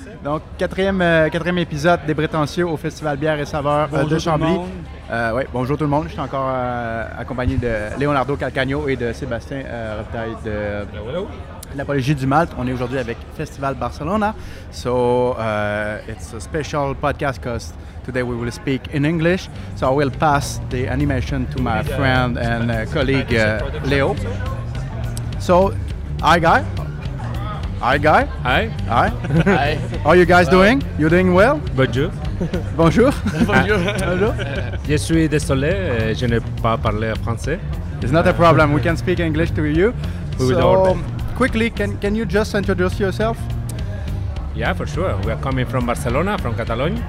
Donc, quatrième épisode des Prétentieux au Festival Bière et Saveurs de Chambly. Oui, bonjour tout le monde. Je suis encore accompagné de Leonardo Calcagno et de Sébastien Robitaille de l'Apologie du Malte. On est aujourd'hui avec Festival Barcelona. So, it's a special podcast because today we will speak in English. So I will pass the animation to my friend and colleague Leo. So, hi guy. Hi guy. Hi. Hi. Hi. How are you guys doing? You doing well? Bonjour. Bonjour. Bonjour. Bonjour. Je suis désolé, je n'ai pas parlé français. It's not a problem. We can speak English to you. We will do our So, quickly, can you just introduce yourself? Yeah, for sure. We are coming from Barcelona, from Catalonia.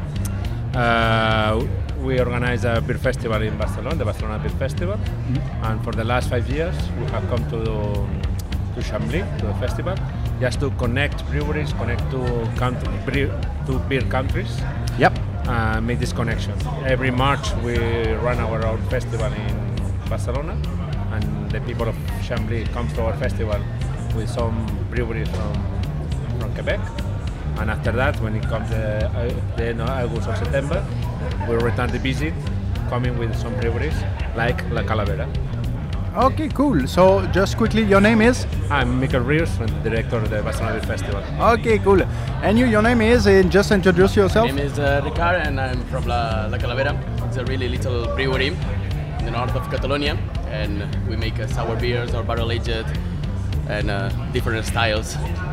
We organize a beer festival in Barcelona, the Barcelona Beer Festival. Mm-hmm. And for the last 5 years, we have come to Chambly, to the festival, just to connect breweries, connect two beer countries. Yep. Make this connection. Every March we run our own festival in Barcelona, and the people of Chambly come to our festival with some breweries from Quebec. And after that, when it comes the end of August or September, we return the visit, coming with some breweries like La Calavera. Okay, cool. So, just quickly, your name is? I'm Michael Riers, I'm the director of the Barcelona Beer Festival. Okay, cool. And your name is? And just introduce yourself. My name is Ricard and I'm from La Calavera. It's a really little brewery in the north of Catalonia, and we make sour beers or barrel aged and different styles.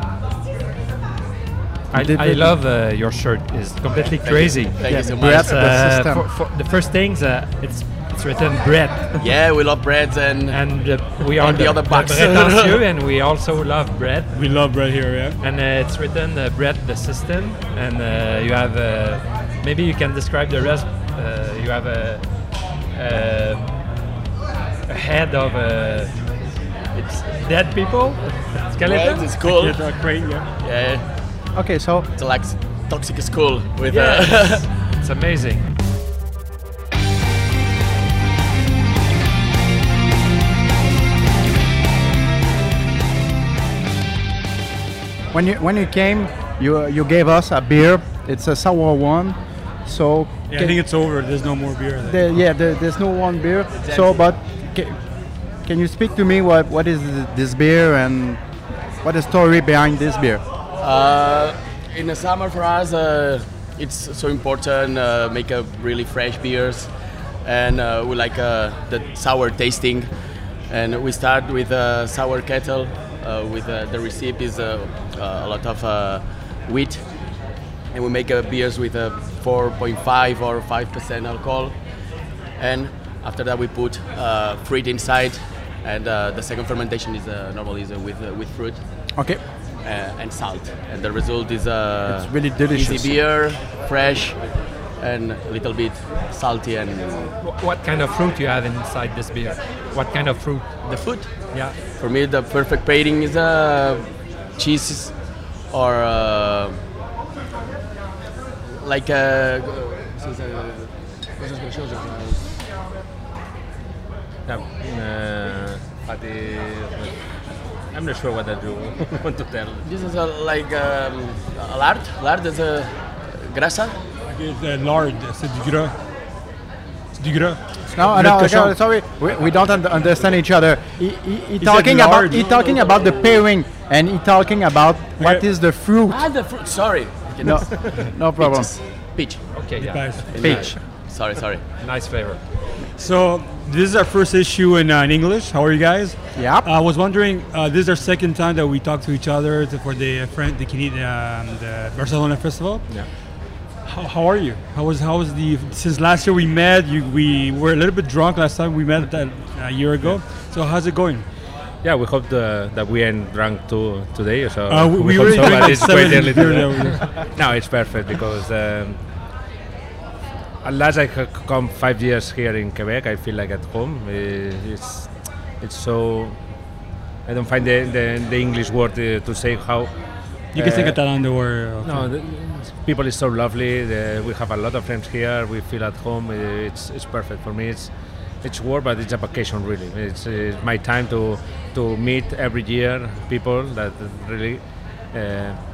I love your shirt. It's completely crazy. Thank you so bread. much. The system. For the first things, it's written bread, Yeah, we love breads and we are on the other box. Prétentieux, and we also love bread. We love bread here, yeah. And it's written bread the system, and you have maybe you can describe the rest. You have a head of it's dead people. Skeleton. Bread is cool. Crane, yeah. Yeah, Okay, so it's like toxic school with Yes. It's amazing. when you came, you gave us a beer. It's a sour one. So Yeah, I think it's over. There's no more beer. There. there's no one beer. So, but can you speak to me what is this beer and what is the story behind this beer? In the summer for us, it's so important make a really fresh beers, and we like the sour tasting. And we start with sour kettle. With the recipe is a lot of wheat, and we make beers with 4.5 or 5% alcohol. And after that, we put fruit inside, and the second fermentation is normally with fruit. Okay. And salt, and the result is It's really delicious. easy beer, fresh, and a little bit salty. And What kind of fruit you have inside this beer? What kind of fruit? the food, Yeah. for me, the perfect pairing is cheese or like I'm not sure what I do want to tell. this is like lard. Lard is a grasa. It's lard. C'est du gras. C'est du gras. No, Red cochon. sorry, we don't understand each other. He said talking lard. about the pairing, and he talking about what Okay. is the fruit. The fruit. Sorry. No, no problem. Peach. Okay. Yeah. Guys. Peach. Sorry. Nice flavor. So this is our first issue in English. How are you guys? Yep. I was wondering, this is our second time that we talk to each other for the the Barcelona Festival. Yeah. How are you? How was since last year we met? We were a little bit drunk last time we met a year ago. So how's it going? Yeah, we hope that we ain't drunk too today. So we hope already so, drank but it's quite 7 early beer to No, it's perfect because at last I have come 5 years here in Quebec. I feel like at home. It's so. I don't find the English word to say how. You can say Catalan or No, the people is so lovely. We have a lot of friends here. We feel at home. It's perfect for me. It's work, but it's a vacation really. It's my time to meet every year people that really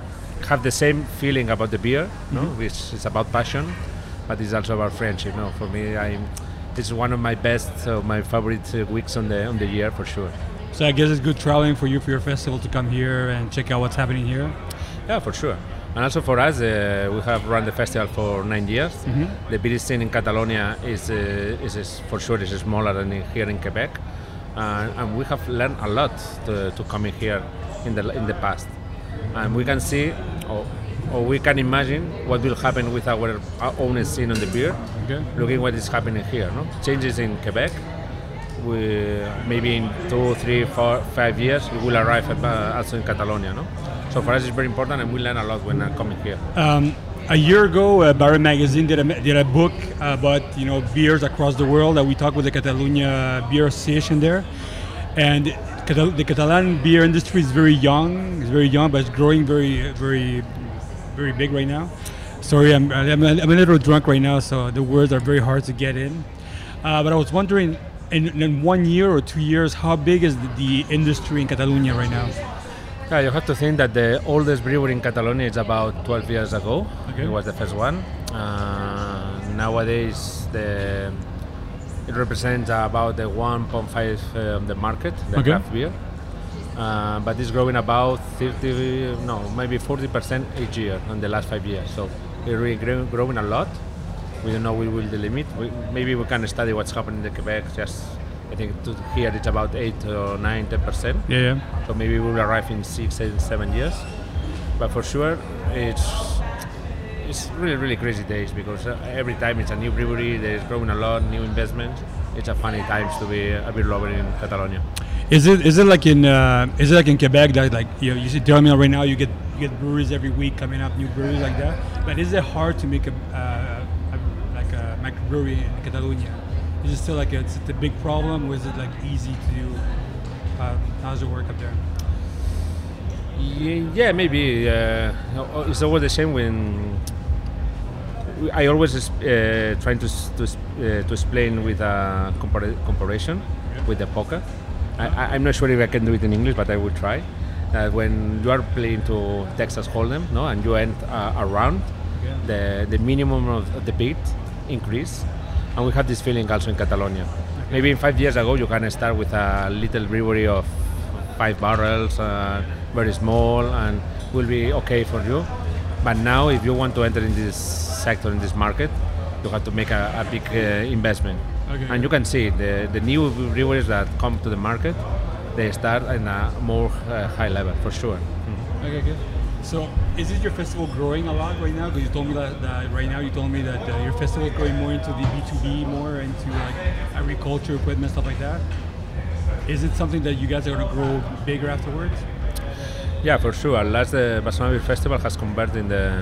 have the same feeling about the beer, no? Which is about passion, but it's also about friendship. No, for me, it's one of my best, my favorite weeks on the year for sure. So I guess it's good traveling for you for your festival to come here and check out what's happening here. Yeah, for sure. And also for us, we have run the festival for 9 years. The beer scene in Catalonia is for sure is smaller than here in Quebec, and we have learned a lot to come in here in the past, and we can see or we can imagine what will happen with our own scene on the beer. Okay. Looking what is happening here, no changes in Quebec. We maybe in 2, 3, 4, 5 years we will arrive also in Catalonia, no. So for us it's very important, and we learn a lot when coming here. A year ago, Barra Magazine did a book about beers across the world. That we talked with the Catalonia Beer Association there, and the Catalan beer industry is very young. It's very young, but it's growing very, very, very big right now. Sorry, I'm a little drunk right now, so the words are very hard to get in. But I was wondering, in 1 year or 2 years, how big is the industry in Catalonia right now? Yeah, you have to think that the oldest brewery in Catalonia is about 12 years ago. Okay. It was the first one. Nowadays, it represents about the 1.5 of the market, the craft beer. But it's growing about maybe 40% each year in the last 5 years. So it's really growing a lot. We don't know we will the limit. Maybe we can study what's happening in Quebec. I think here it's about 8 or 9, 10%. Yeah. So maybe we will arrive in 6, 7 years. But for sure, it's really, really crazy days, because every time it's a new brewery, there's growing a lot, new investment. It's a funny times to be a beer lover in Catalonia. Is it like in Quebec that you see terminal right now you get breweries every week coming up, new breweries like that? But is it hard to make a microbrewery in Catalonia? Is it still it's a big problem, or is it easy to do? How does it work up there? Yeah, maybe. It's always the same when I always trying to explain with a comparison with the poker. I'm not sure if I can do it in English, but I will try. When you are playing to Texas Hold'em, no, and you end a round, the minimum of the bid increase, and we have this feeling also in Catalonia. Maybe in 5 years ago you can start with a little brewery of 5 barrels, very small, and will be okay for you. But now, if you want to enter in this sector, in this market, you have to make a big investment. Okay. And you can see the new breweries that come to the market, they start in a more high level, for sure. Okay, good. So, is it your festival growing a lot right now? Because you told me that right now you told me that your festival is going more into the B2B, more into agriculture, equipment, stuff like that. Is it something that you guys are going to grow bigger afterwards? Yeah, for sure. Last the Barcelona Beer Festival has converted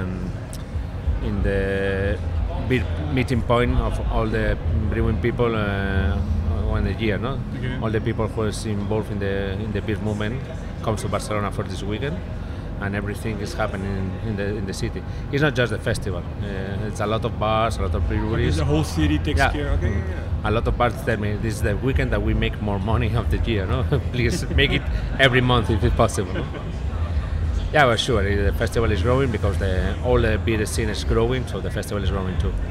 in the beer meeting point of all the brewing people in the year, no? Okay. All the people who is involved in the beer movement comes to Barcelona for this weekend, and everything is happening in the city. It's not just the festival. It's a lot of bars, a lot of breweries. The whole city takes care. Okay. A lot of bars tell me this is the weekend that we make more money of the year. No, please make it every month if it's possible. Yeah, well, sure. The festival is growing because all the beer scene is growing, so the festival is growing too.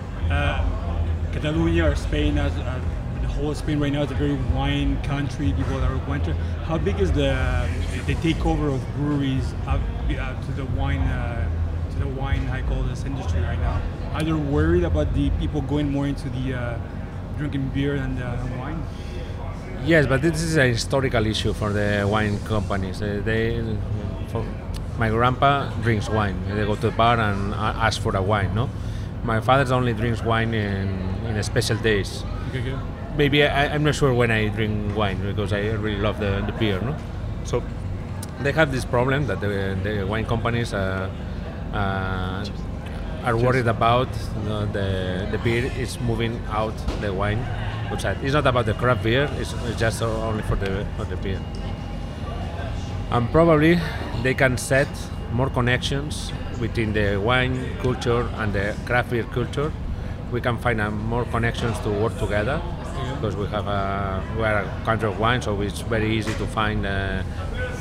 Catalonia or Spain, the whole of Spain right now is a very wine country. People are winter. How big is the takeover of breweries to the wine? I call this industry right now. Are you worried about the people going more into the drinking beer and wine? Yes, but this is a historical issue for the wine companies. My grandpa drinks wine. They go to the bar and ask for a wine. No, my father only drinks wine in special days. Okay. Maybe I'm not sure when I drink wine, because I really love the beer. No, so they have this problem that the wine companies are worried about. The beer is moving out the wine outside. It's not about the craft beer. It's just only for the beer. And probably they can set more connections between the wine culture and the craft beer culture. We can find more connections to work together, because we are a country of wine, so it's very easy to find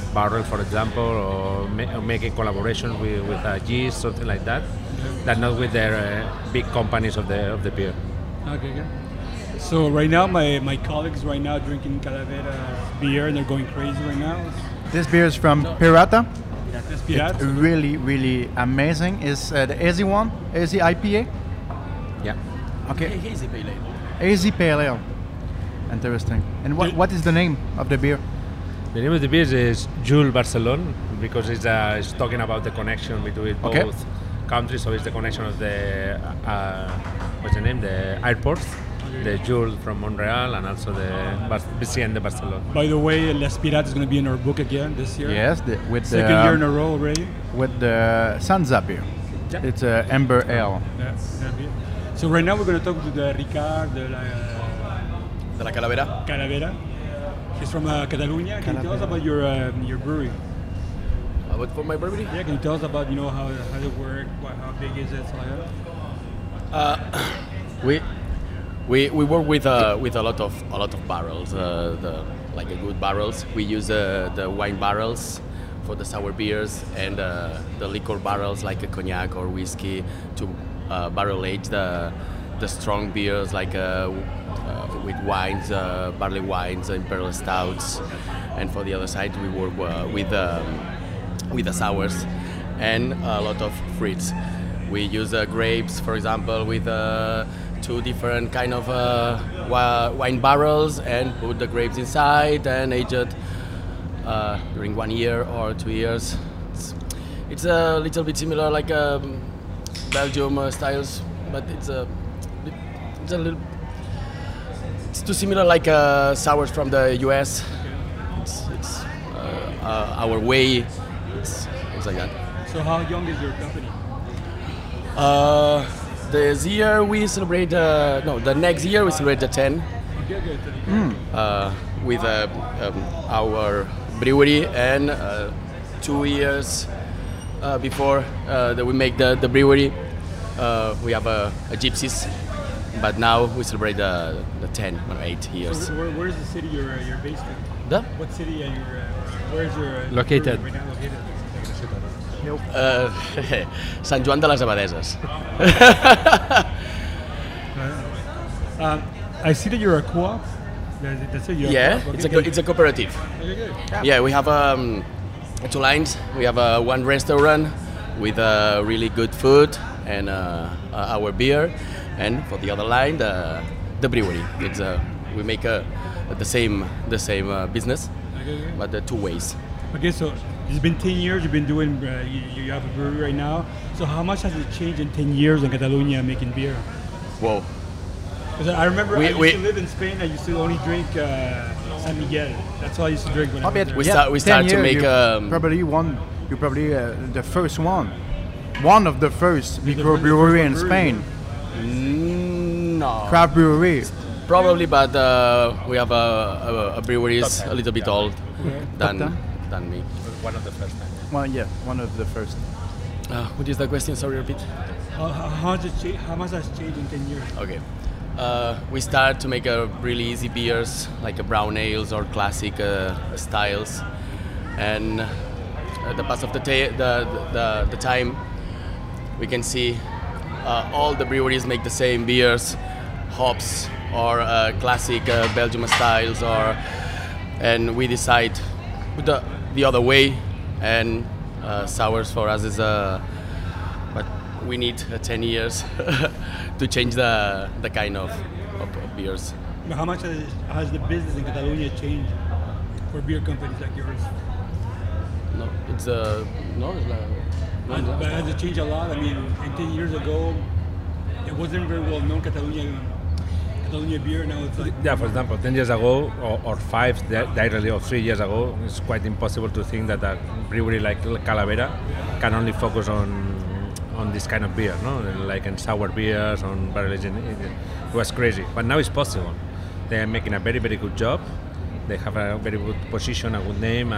barrel, for example, or making collaboration with a yeast, something like that. That not with their big companies of the beer. Okay, good. So right now, my colleagues right now drinking Calavera beer and they're going crazy right now. This beer is from Pirata. That's It's Pirata. really, really amazing. It's the AZ one, AZ IPA. Yeah. Okay, Hazy Pale Ale. AZ Pale Ale. Interesting. And what is the name of the beer? The name of the beer is Jules Barcelone because it's talking about the connection between Okay. both countries. So it's the connection of the what's the name? The airports, the Jules from Montreal, and also the BCN de Barcelona. By the way, Les Pirates is going to be in our book again this year. Yes, with Second the year in a row already. with the Sansa beer. Yeah. It's a Amber Ale. Yeah, that beer. So right now we're going to talk to the Ricard de la De la Calavera. Calavera. He's from Catalonia. Can you tell us about your brewery? What for my brewery? Yeah, can you tell us about how it works, how big is it, stuff like that? We work with a lot of barrels, like good barrels. We use the wine barrels for the sour beers and the liquor barrels like a cognac or whiskey to barrel age the strong beers like with wines, barley wines, imperial stouts, and for the other side we work with the sours and a lot of fruits. We use grapes, for example, with 2 different kind of wine barrels and put the grapes inside and age it during 1 year or 2 years. It's a little bit similar like Belgium styles, but it's too similar like sours from the US. It's our way. It's like that. So how young is your company? This year we celebrate. The next year we celebrate the 10 Okay, good. with our brewery, and 2 years before that we make the brewery, we have a gypsies. But now we celebrate the 10 or 8 years. So where's the city you're based in? The? What city are you? Where's your Located. brewery right now located? Sant Joan de les Abadeses. I see that you're a co-op. That's it. You're Yeah, a co-op. it's a cooperative. Okay, good. Yeah, we have 2 lines. We have one restaurant with really good food and our beer, and for the other line, the brewery. It's we make the same business, but the 2 ways. Okay, so it's been 10 years. You've been doing. You have a brewery right now. So how much has it changed in 10 years in Catalonia making beer? Whoa. 'Cause I remember I used We- to live in Spain. I used to only drink San Miguel. That's all I used to drink when I was there. We start 10 to years, make, you're probably the first one of the first the microbrewery in first Spain. No. Craft brewery. Probably, but we have a breweries a little bit old Top 10? than me. One of the first time. Well, yeah, one of the first. What is the question? Sorry, repeat. How much has changed in 10 years? Okay. We start to make really easy beers like brown ales or classic styles, and the pass of the time, we can see all the breweries make the same beers, hops or classic Belgium styles, and we decide the other way, and sours for us is but we need 10 years to change the kind of beers. But how much has the business in Catalonia changed for beer companies like yours? No, it's no, it's not. But has it changed a lot? I mean, 10 years ago, it wasn't very well known Catalonia beer. Now it's like Yeah, for example, 10 years ago or 5 directly or 3 years ago, it's quite impossible to think that a brewery like Calavera can only focus on this kind of beer, no? Like in sour beers, on barrel aging. It was crazy, but now it's possible. They are making a very, very good job. They have a very good position, a good name,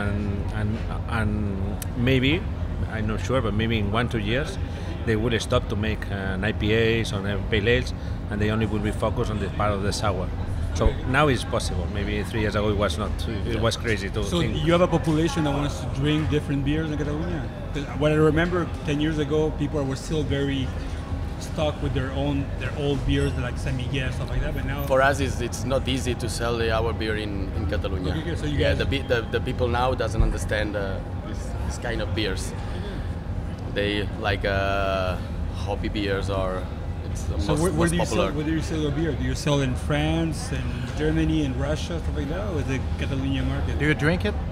and maybe, I'm not sure, but maybe in 1-2 years, they will stop to make IPAs or pale ales, and they only will be focused on this part of the sour. So now it's possible. Maybe 3 years ago it was not. It was crazy to So think. you have a population that wants to drink different beers in Catalonia? 'Cause what I remember 10 years ago, people were still very stuck with their old beers like San Miguel, stuff like that. But now, For us, it's not easy to sell our beer in Catalonia. Okay, so you yeah, guys- the people now doesn't understand this kind of beers. They like hobby beers or it's the so where most do you popular. sell? Where do you sell your beer? Do you sell in France and Germany and Russia, stuff like that, or the Catalonia market? Do you drink it?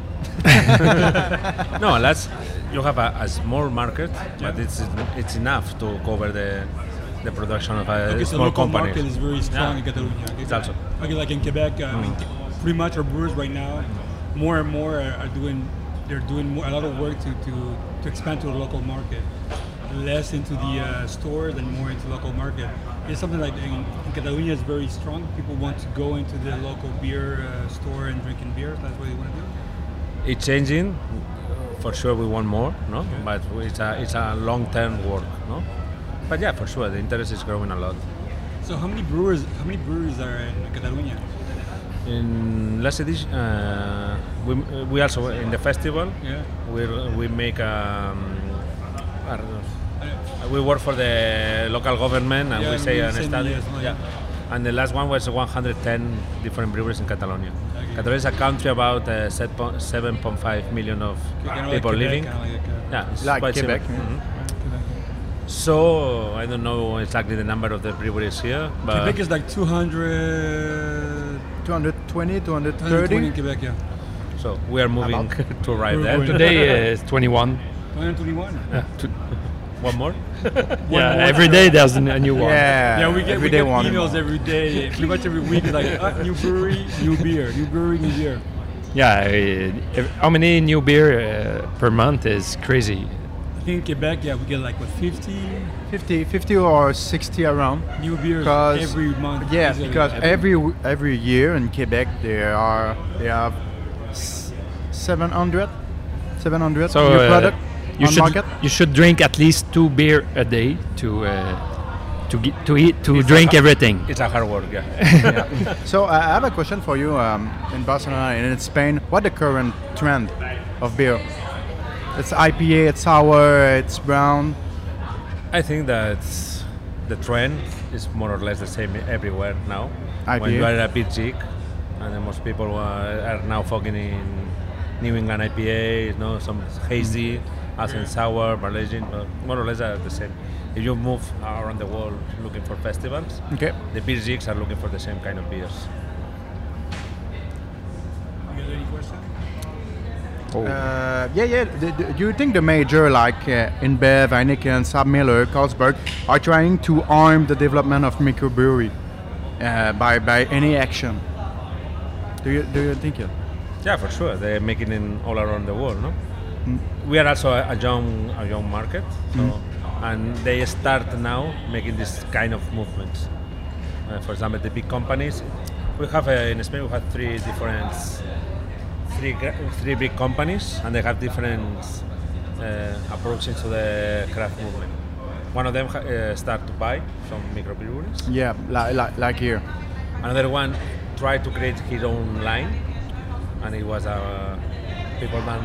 No, you have a small market, but it's enough to cover the production of a Okay, so small local company. market is very strong Yeah. in Catalonia. Okay, It's also. okay, like in Quebec, I mean, pretty much our brewers right now, more and more are doing. They're doing a lot of work to expand to the local market, less into the stores and more into local market. It's something like in Catalonia is very strong. People want to go into the local beer store and drinking beers. That's what they want to do. It's changing. For sure, we want more, no? But it's a long-term work, no? But yeah, for sure, the interest is growing a lot. So how many breweries are in Catalonia? In last edition, we also in the festival. Yeah. We make I don't know. We work for the local government and Yeah, we say you an send study. me as well, yeah. And the last one was 110 different breweries in Catalonia. Okay. Catalonia is a country about 7.5 million of Kind of people like living. Quebec, kind of like, Yeah, it's Like quite Quebec, similar. yeah. Mhm. Quebec. So I don't know exactly the number of the breweries here, but Quebec is like 200. 220, 220 230? in Quebec, yeah. so we are moving to arrive We're there. going- Today is 21. 221. One more. Yeah, every day there's a new one. Yeah, Yeah, we get every day one. emails every day, pretty much every week. It's like new brewery, new beer, new brewery, new beer. Yeah, how many new beer per month is crazy. I think in Quebec, yeah, we get like what 50 50 or 60 around. new beers 'Cause- every month. Yeah, easily. because every year in Quebec they have 700 So new product on market. you should drink at least 2 beer a day to drink everything. It's a hard work, yeah. So I have a question for you. In Barcelona and in Spain, what the current trend of beer? It's IPA, it's sour, it's brown. I think that the trend is more or less the same everywhere now. When IPA. you are a bit chic, and then most people are now focusing in New England IPA, some hazy, also in sour, Barlesian, but more or less are the same. If you move around the world looking for festivals, Okay. the beer geeks are looking for the same kind of beers. You got any questions? Yeah. Do you think the major like InBev, Heineken, SAB-Miller, Carlsberg are trying to arm the development of microbrewery by any action? Do you think it? Yeah, for sure. They're making it all around the world, no? We are also a young market, so and they start now making this kind of movements. For example, the big companies. We have in Spain we have three big companies, and they have different approaches to the craft movement. One of them start to buy some microbreweries. Yeah, like here. Another one tried to create his own line, and it was people then.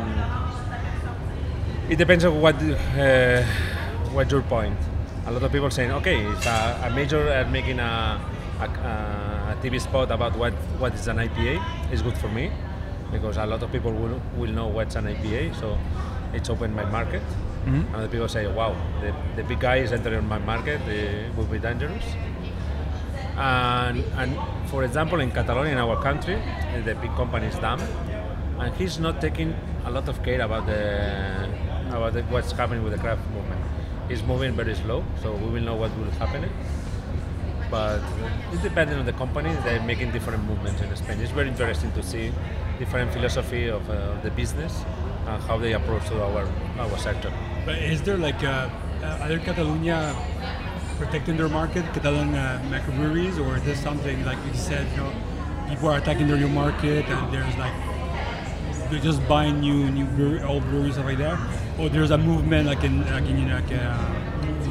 It depends on what's your point. A lot of people saying, okay, it's a major making a TV spot about what is an IPA. It's good for me because a lot of people will know what's an IPA, so it's opened my market. And other people say, wow, the big guy is entering my market. It will be dangerous. And for example, in Catalonia, in our country, the big company is DAM, and he's not taking a lot of care about what's happening with the craft movement. He's moving very slow, so we will know what will happen. But it's depending on the company. They're making different movements in Spain. It's very interesting to see different philosophy of the business and how they approach to our sector. But is there like other Catalonia protecting their market, Catalan microbreweries, or is this something like you said, people are attacking their new market and there's like they're just buying old breweries stuff like that, or there's a movement like in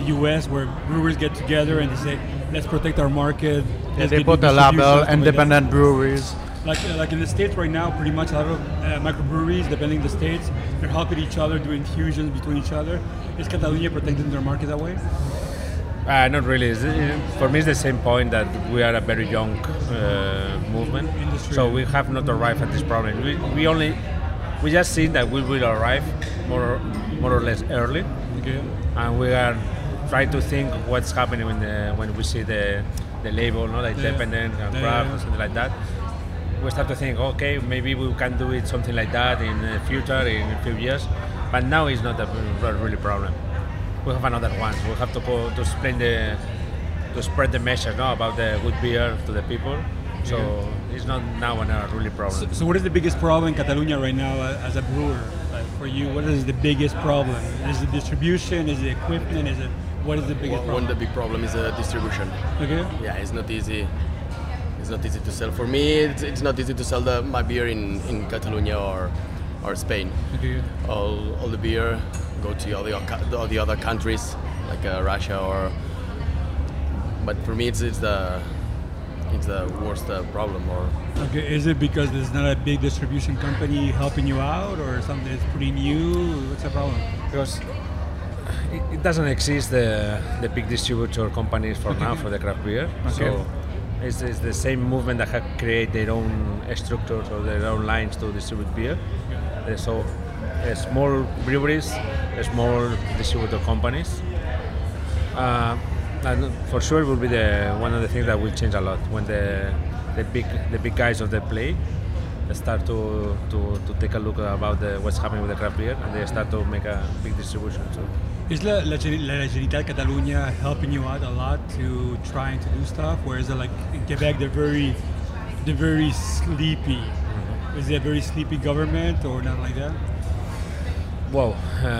the US where brewers get together and they say, let's protect our market. Yeah, they put a label, independent breweries. Like in the States right now, pretty much a lot of microbreweries, depending on the states, they're helping each other, do infusions between each other. Is Catalonia protecting their market that way? Not really. For me, it's the same point that we are a very young movement, Industry. so we have not arrived at this problem. We just see that we will arrive more or less early, Okay. and we are trying to think what's happening when we see the label, no, like independent and craft or something like that. We start to think, okay, maybe we can do it something like that in the future, in a few years. But now it's not a really problem. We have another one. We have to go to explain to spread the message, no, about the good beer to the people. So it's not now a really problem. So what is the biggest problem in Catalonia right now as a brewer? For you, what is the biggest problem? Is it distribution? Is it equipment? What is the biggest problem? One of the big problem is distribution. Okay. Yeah, it's not easy. It's not easy to sell. For me, it's not easy to sell my beer in Catalonia or Spain. Okay. All the beer go to all the other countries like Russia but for me it's the worst problem. Or Okay. Is it because there's not a big distribution company helping you out, or something that's pretty new? What's the problem? Because it doesn't exist the big distributor companies for now for the craft beer. So it's the same movement that have created their own structures or their own lines to distribute beer. So small breweries, small distributor companies. And for sure it will be one of the things that will change a lot when the big guys of the play start to take a look about what's happening with the craft beer, and they start to make a big distribution. So. Is la Generalitat Catalunya helping you out a lot to trying to do stuff? Whereas like in Quebec, they're very sleepy. Mm-hmm. Is it a very sleepy government or not like that? Well,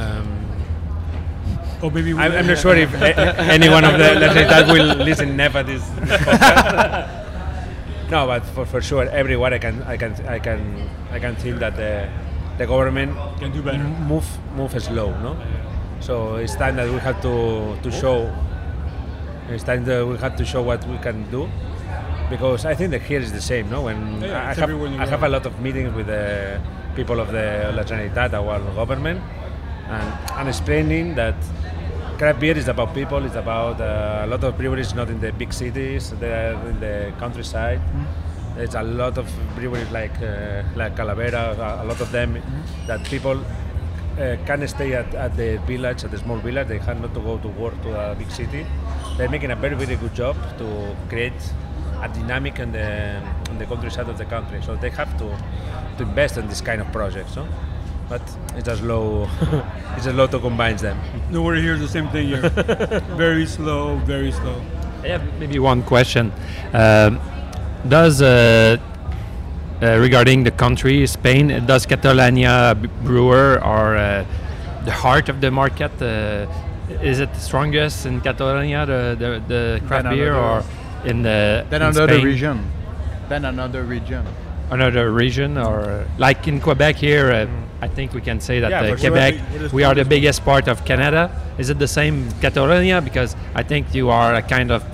Or maybe I'm not sure if anyone of the Generalitat will listen never this podcast. No, but for sure, everywhere I can feel that the government can do better. Move slow, no. So it's time that we have to show. It's time that we have to show what we can do, because I think that here is the same, no. When I have a lot of meetings with the people of the La Generalitat, our government, and explaining that craft beer is about people. It's about a lot of breweries not in the big cities. They're in the countryside. Mm-hmm. There's a lot of breweries like Calavera. A lot of them that people can stay at the village, at the small village. They have not to go to work to a big city. They're making a very, very good job to create a dynamic in the countryside of the country. So they have to invest in this kind of projects. No? But it's just slow. It's just slow to combine them. Nowhere here is the same thing here. Very slow, very slow. I have maybe one question. Does regarding the country, Spain, does Catalonia brewer or the heart of the market? Is it strongest in Catalonia, the craft beer, or in the another region? Then another region. Another region, or like in Quebec here, I think we can say that Quebec, sure. we are the biggest part of Canada. Is it the same Catalonia? Because I think you are a kind of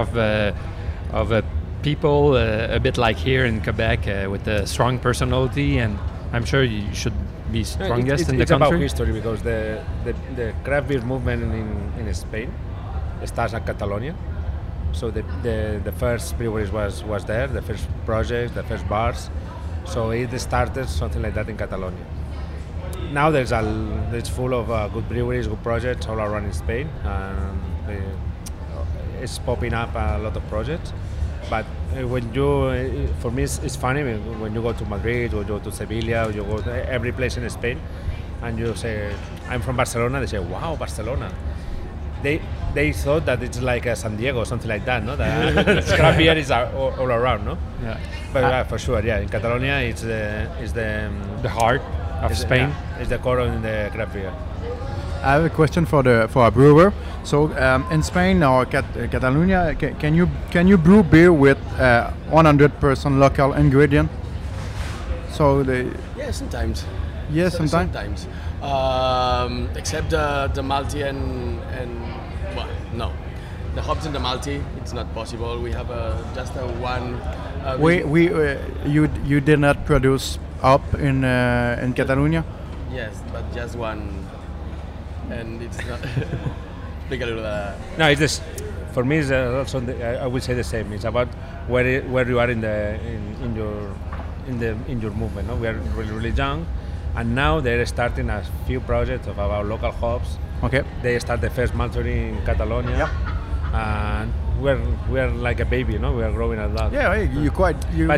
a people a bit like here in Quebec with a strong personality, and I'm sure you should be strongest in the country. It's about history, because the craft beer movement in Spain starts at Catalonia. So the first breweries was there, the first projects, the first bars. So it started something like that in Catalonia. Now it's full of good breweries, good projects all around in Spain, and it's popping up a lot of projects. But for me, it's funny when you go to Madrid or you go to Sevilla or you go to every place in Spain, and you say, "I'm from Barcelona." They say, "Wow, Barcelona." They thought that it's like San Diego or something like that, no? That craft beer is all around, no? Yeah. But for sure, yeah. In Catalonia, it's the heart of Spain. Yeah, it's the core in the craft beer. I have a question for a brewer. So in Spain or Catalonia, can you brew beer with 100% local ingredient? So yeah, sometimes. Yes, sometimes. Sometimes. Except the Malty and well, No, the hops in the Malty, it's not possible. We have just a one. You did not produce up in Catalonia? Yes, but just one, and it's not. Speak a little. No, it's this. For me, it's also I would say the same. It's about where you are in your movement. No? We are really young, and now they're starting a few projects of our local hops. Okay. They start the first maltery in Catalonia. Yep. And we're like a baby, you know. We are growing a lot. Yeah, you're quite young.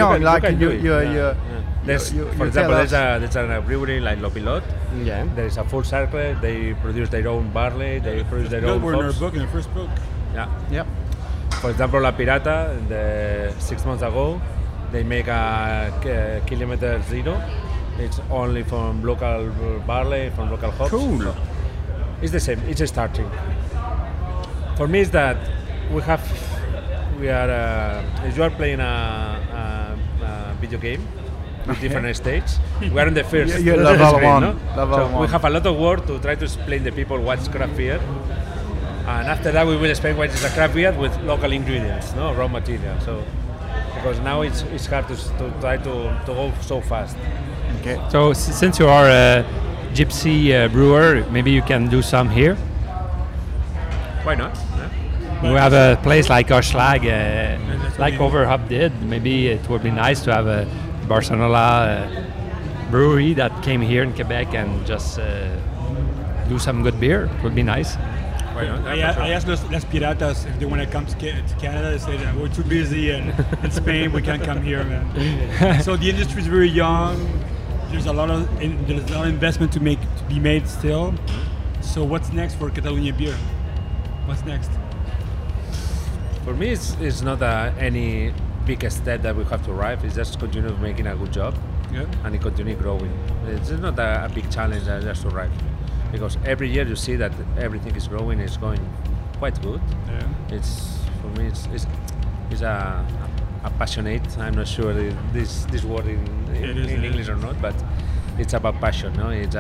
For example, there's a brewery like Lo Pilot. Yeah. There is a full circle. They produce their own barley. They produce their own We're in our hops. book, in the first book. Yeah. Yep. For example, La Pirata, 6 months ago, they make a kilometer zero. It's only from local barley, from local hops. Cool. It's the same. It's starting. For me, is that we are. If you are playing a video game with different stages, we are in the first. Level screen, one. no? Level so one. we have a lot of work to try to explain to people what's craft beer, and after that we will explain what is a craft beer with local ingredients, no raw material. So because now it's hard to try to go so fast. Okay. So since you are a gypsy brewer, maybe you can do some here. Why not? Yeah. We have a place like Oshlag, like Overhop did. Maybe it would be nice to have a Barcelona brewery that came here in Quebec and just do some good beer. It would be nice. Why not? I asked Las Piratas if they want to come to Canada. They said we're too busy and in Spain we can't come here, man. So the industry is very young. There's a lot of investment to be made still. So what's next for Catalonia beer? What's next? For me, it's not any big step that we have to arrive. It's just continue making a good job, and it continue growing. It's not a big challenge just to arrive, because every year you see that everything is growing. It's going quite good. Yeah. It's for me, it's a passionate. I'm not sure this word in English or not, but it's about passion. No, it's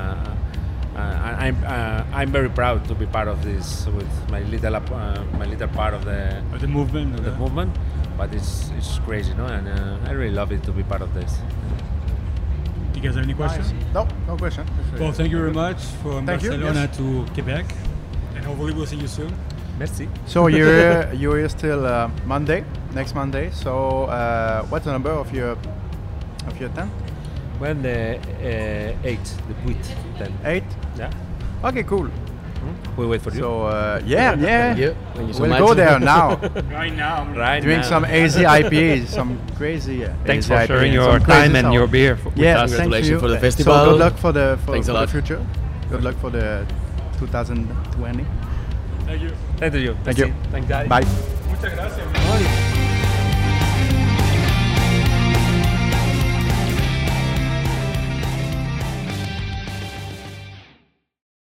I'm very proud to be part of this with my little part of the movement. movement, but it's crazy, no? And I really love it to be part of this. You guys have any questions? Nice. No question. Well, thank you very much from Thank you, Barcelona yes. to Quebec, and hopefully we'll see you soon. Merci. So you're here till next Monday. So what's the number of your tent? Well, the 8, the Puit, then. 8. Yeah. Okay, cool. We wait for you. So yeah. Thank you so We'll much. go there now. Right now. Right Doing now. some AZ IPAs, some crazy. Thanks AZ for sharing IPAs, your some crazy time and sour. your beer with Yeah, us. thank Congratulations you. for the So festival. good luck for the Thanks a lot. future. Good luck for the 2020. Thank you. Thank you. Thank you. Thanks, guys. Bye. Muchas gracias.